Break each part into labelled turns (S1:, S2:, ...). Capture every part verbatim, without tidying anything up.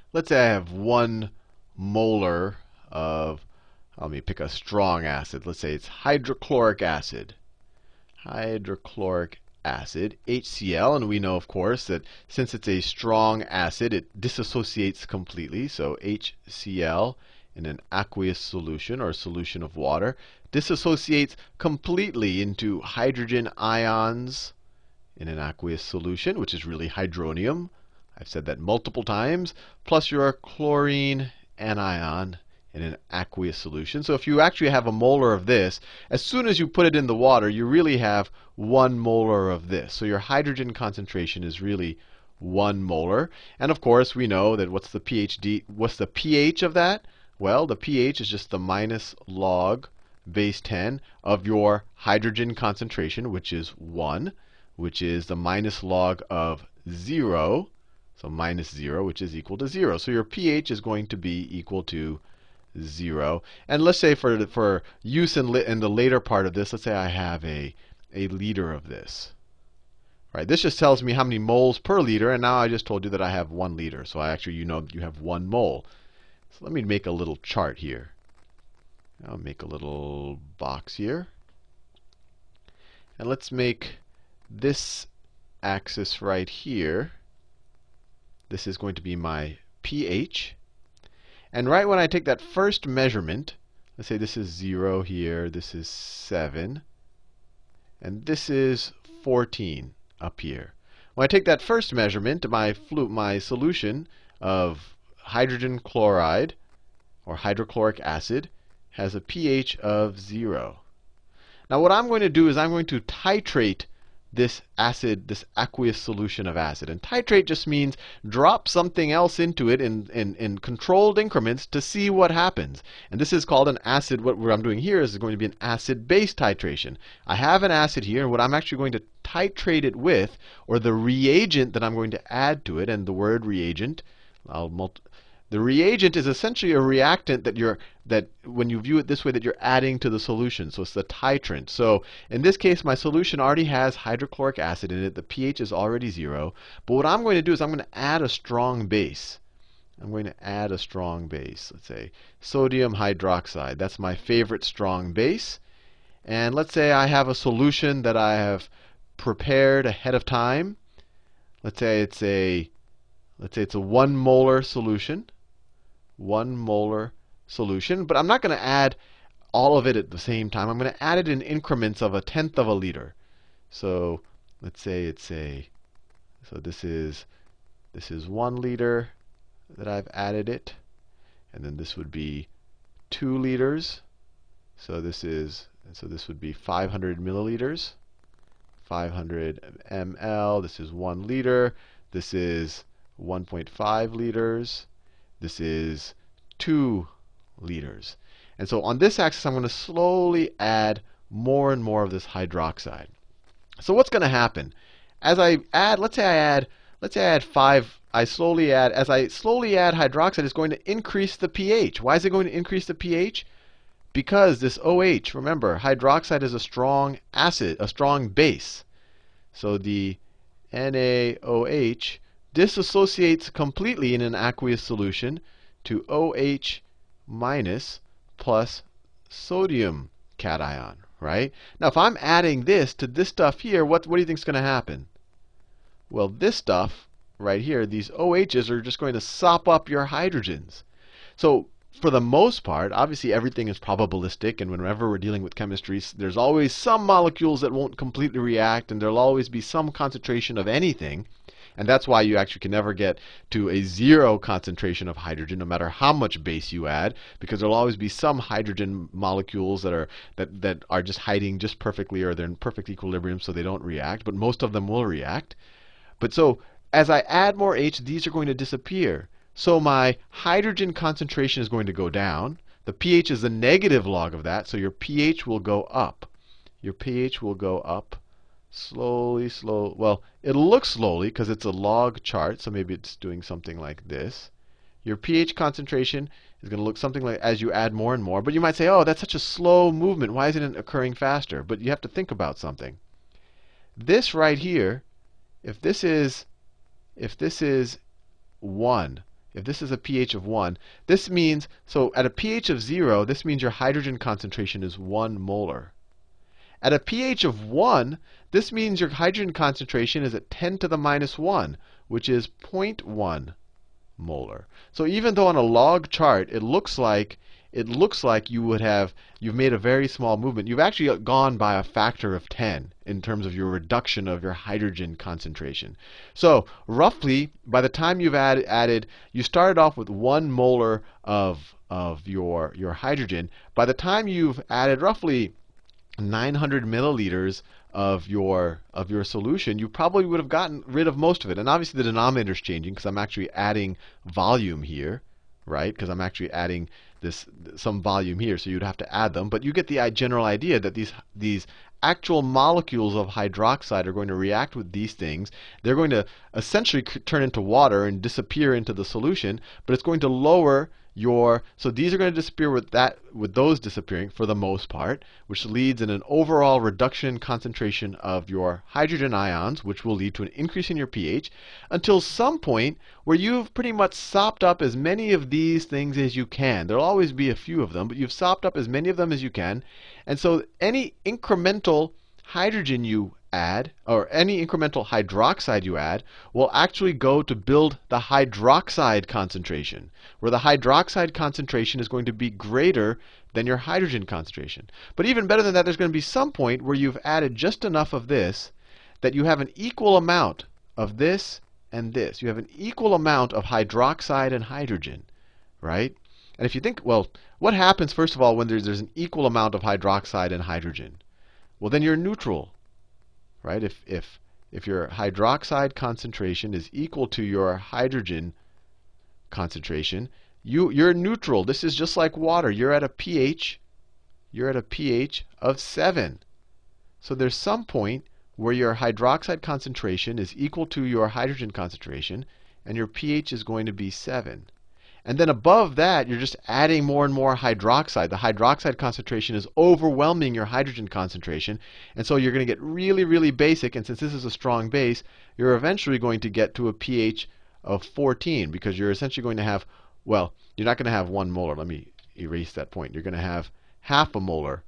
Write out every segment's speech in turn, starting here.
S1: let's say I have one molar of, let me pick a strong acid. Let's say it's hydrochloric acid. Hydrochloric acid, HCl. And we know, of course, that since it's a strong acid, it dissociates completely. So HCl in an aqueous solution or solution of water dissociates completely into hydrogen ions in an aqueous solution, which is really hydronium. I've said that multiple times. Plus your chlorine anion in an aqueous solution. So if you actually have a molar of this, as soon as you put it in the water, you really have one molar of this. So your hydrogen concentration is really one molar. And of course, we know that what's the pH, what's the pH of that? Well, the pH is just the minus log base ten of your hydrogen concentration, which is one, which is the minus log of zero. So minus zero, which is equal to zero. So your pH is going to be equal to zero. And let's say for, for use in, in the later part of this, let's say I have a, a liter of this. Right? This just tells me how many moles per liter. And now I just told you that I have one liter. So I actually, you know, you have one mole. So let me make a little chart here. I'll make a little box here. And let's make this axis right here. This is going to be my pH. And right when I take that first measurement, let's say this is zero here, this is seven, and this is fourteen up here. When I take that first measurement, my, flu my solution of hydrogen chloride or hydrochloric acid has a pH of zero. Now what I'm going to do is I'm going to titrate this acid, this aqueous solution of acid. And titrate just means drop something else into it in, in, in controlled increments to see what happens. And this is called an acid. What I'm doing here is going to be an acid-base titration. I have an acid here, and what I'm actually going to titrate it with, or the reagent that I'm going to add to it, and the word reagent, I'll multi the reagent is essentially a reactant that you're, that when you view it this way, that you're adding to the solution. So it's the titrant. So in this case, my solution already has hydrochloric acid in it. The pH is already zero. But what I'm going to do is I'm going to add a strong base. I'm going to add a strong base. Let's say sodium hydroxide. That's my favorite strong base. And let's say I have a solution that I have prepared ahead of time. Let's say it's a, let's say it's a one molar solution. One molar solution. But I'm not going to add all of it at the same time. I'm going to add it in increments of a tenth of a liter. So let's say it's a, so this is, this is one liter that I've added it. And then this would be two liters. So this is, so this would be five hundred milliliters. five hundred milliliters. This is one liter. This is one point five liters. This is two liters. And so on this axis, I'm going to slowly add more and more of this hydroxide. So what's going to happen? As I add, let's say I add, let's say I add five, I slowly add, as I slowly add hydroxide, it's going to increase the pH. Why is it going to increase the pH? Because this OH, remember, hydroxide is a strong acid, a strong base. So the NaOH dissociates completely in an aqueous solution to OH minus plus sodium cation, right? Now, if I'm adding this to this stuff here, what, what do you think is going to happen? Well, this stuff right here, these OHs are just going to sop up your hydrogens. So for the most part, obviously everything is probabilistic, and whenever we're dealing with chemistry, there's always some molecules that won't completely react, and there'll always be some concentration of anything. And that's why you actually can never get to a zero concentration of hydrogen, no matter how much base you add, because there'll always be some hydrogen molecules that are that, that are just hiding just perfectly, or they're in perfect equilibrium, so they don't react. But most of them will react. But so as I add more H, these are going to disappear. So my hydrogen concentration is going to go down. The pH is the negative log of that, so your pH will go up. Your pH will go up. Slowly, slow. Well, it'll look slowly because it's a log chart, so maybe it's doing something like this. Your pH concentration is going to look something like as you add more and more. But you might say, oh, that's such a slow movement. Why isn't it occurring faster? But you have to think about something. This right here, if this is, if this is one, if this is a pH of one, this means, so at a pH of zero, this means your hydrogen concentration is one molar. At a pH of one, this means your hydrogen concentration is at ten to the minus one, which is zero point one molar. So even though on a log chart it looks like it looks like you would have you've made a very small movement, you've actually gone by a factor of ten in terms of your reduction of your hydrogen concentration. So roughly, by the time you've add, added, you started off with one molar of of your your hydrogen. By the time you've added roughly nine hundred milliliters of your of your solution, you probably would have gotten rid of most of it. And obviously the denominator is changing because I'm actually adding volume here, right? Because I'm actually adding this some volume here, so you'd have to add them. But you get the general idea that these these actual molecules of hydroxide are going to react with these things. They're going to essentially turn into water and disappear into the solution, but it's going to lower your, so these are going to disappear with that, with those disappearing for the most part, which leads in an overall reduction in concentration of your hydrogen ions, which will lead to an increase in your pH, until some point where you've pretty much sopped up as many of these things as you can. There'll always be a few of them, but you've sopped up as many of them as you can. And so any incremental hydrogen you add, or any incremental hydroxide you add, will actually go to build the hydroxide concentration, where the hydroxide concentration is going to be greater than your hydrogen concentration. But even better than that, there's going to be some point where you've added just enough of this that you have an equal amount of this and this. You have an equal amount of hydroxide and hydrogen, right? And if you think, well, what happens, first of all, when there's, there's an equal amount of hydroxide and hydrogen? Well, then you're neutral. Right? If, if, if your hydroxide concentration is equal to your hydrogen concentration, you, you're neutral. This is just like water. You're at a pH, you're at a pH of seven. So there's some point where your hydroxide concentration is equal to your hydrogen concentration, and your pH is going to be seven. And then above that, you're just adding more and more hydroxide. The hydroxide concentration is overwhelming your hydrogen concentration. And so you're going to get really, really basic. And since this is a strong base, you're eventually going to get to a pH of fourteen, because you're essentially going to have, well, you're not going to have one molar. Let me erase that point. You're going to have half a molar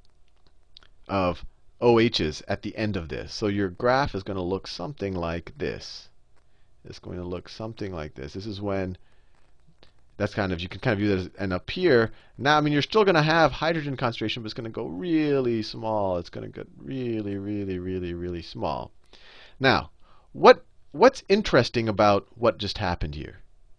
S1: of O H's at the end of this. So your graph is going to look something like this. It's going to look something like this. This is when that's kind of, you can kind of view that as, and up here, now, I mean, you're still going to have hydrogen concentration, but it's going to go really small. It's going to get really, really, really, really small. Now, what what's interesting about what just happened here?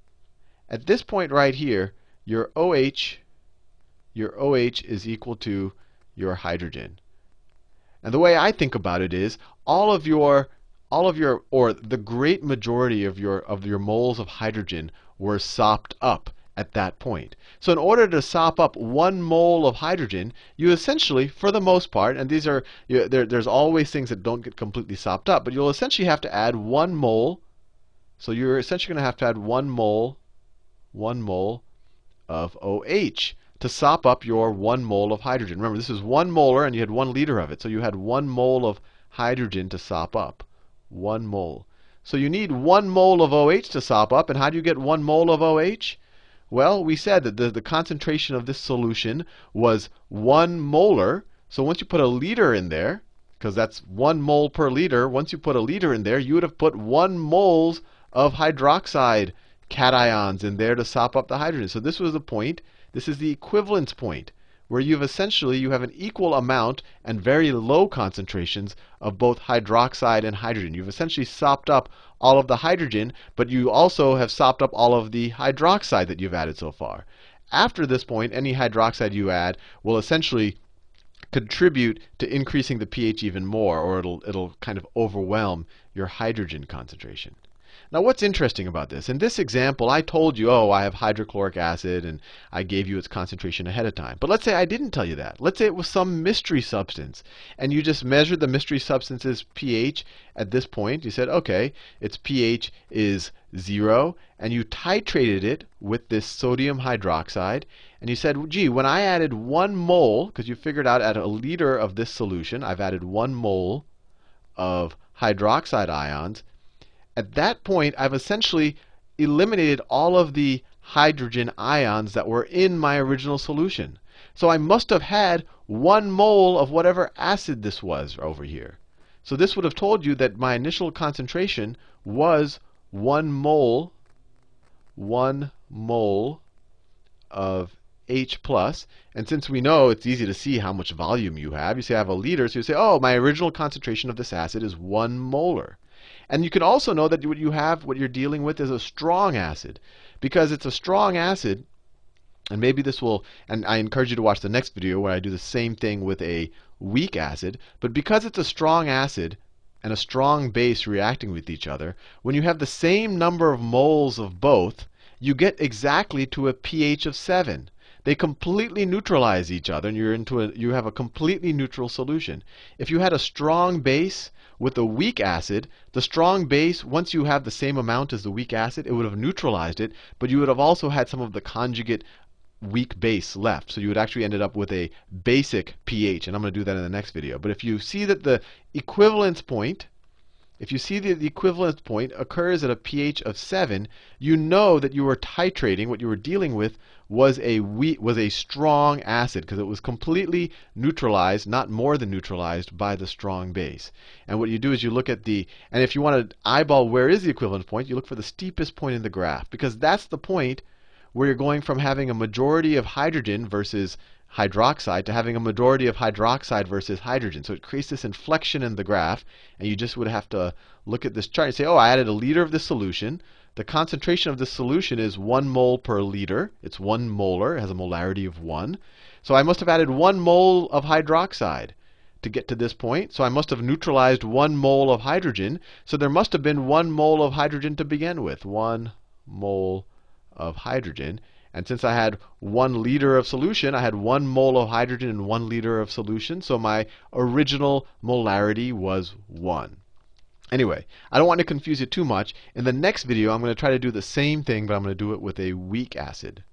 S1: At this point right here, your OH, your OH is equal to your hydrogen. And the way I think about it is, all of your, all of your, or the great majority of your of your moles of hydrogen were sopped up at that point. So in order to sop up one mole of hydrogen, you essentially, for the most part, and these are, you, there, there's always things that don't get completely sopped up, but you'll essentially have to add one mole. So you're essentially going to have to add one mole, one mole of OH to sop up your one mole of hydrogen. Remember, this is one molar, and you had one liter of it. So you had one mole of hydrogen to sop up. One mole. So you need one mole of OH to sop up. And how do you get one mole of OH? Well, we said that the, the concentration of this solution was one molar. So once you put a liter in there, because that's one mole per liter, once you put a liter in there, you would have put one moles of hydroxide cations in there to sop up the hydrogen. So this was the point. This is the equivalence point, where you've essentially, you have an equal amount and very low concentrations of both hydroxide and hydrogen. You've essentially sopped up all of the hydrogen, but you also have sopped up all of the hydroxide that you've added so far. After this point, any hydroxide you add will essentially contribute to increasing the pH even more, or it'll, it'll kind of overwhelm your hydrogen concentration. Now, what's interesting about this? In this example, I told you, oh, I have hydrochloric acid, and I gave you its concentration ahead of time. But let's say I didn't tell you that. Let's say it was some mystery substance, and you just measured the mystery substance's pH at this point. You said, okay, its pH is zero, and you titrated it with this sodium hydroxide, and you said, gee, when I added one mole, because you figured out at a liter of this solution, I've added one mole of hydroxide ions. At that point, I've essentially eliminated all of the hydrogen ions that were in my original solution. So I must have had one mole of whatever acid this was over here. So this would have told you that my initial concentration was one mole, one mole of H plus. And since we know it's easy to see how much volume you have, you say I have a liter, so you say, oh, my original concentration of this acid is one molar. And you can also know that what you have, what you're dealing with, is a strong acid. Because it's a strong acid, and maybe this will, and I encourage you to watch the next video where I do the same thing with a weak acid. But because it's a strong acid and a strong base reacting with each other, when you have the same number of moles of both, you get exactly to a pH of seven. They completely neutralize each other, and you're into a, you have a completely neutral solution. If you had a strong base with a weak acid, the strong base, once you have the same amount as the weak acid, it would have neutralized it, but you would have also had some of the conjugate weak base left. So you would actually ended up with a basic pH, and I'm going to do that in the next video. But if you see that the equivalence point, if you see that the equivalence point occurs at a pH of seven, you know that you were titrating, what you were dealing with was a weak, was a strong acid, because it was completely neutralized, not more than neutralized, by the strong base. And what you do is you look at the, and if you want to eyeball where is the equivalence point, you look for the steepest point in the graph, because that's the point where you're going from having a majority of hydrogen versus hydroxide to having a majority of hydroxide versus hydrogen. So it creates this inflection in the graph, and you just would have to look at this chart and say, oh, I added a liter of this solution. The concentration of this solution is one mole per liter. It's one molar. It has a molarity of one. So I must have added one mole of hydroxide to get to this point. So I must have neutralized one mole of hydrogen. So there must have been one mole of hydrogen to begin with. One mole of hydrogen. And since I had one liter of solution, I had one mole of hydrogen and one liter of solution. So my original molarity was one. Anyway, I don't want to confuse you too much. In the next video, I'm going to try to do the same thing, but I'm going to do it with a weak acid.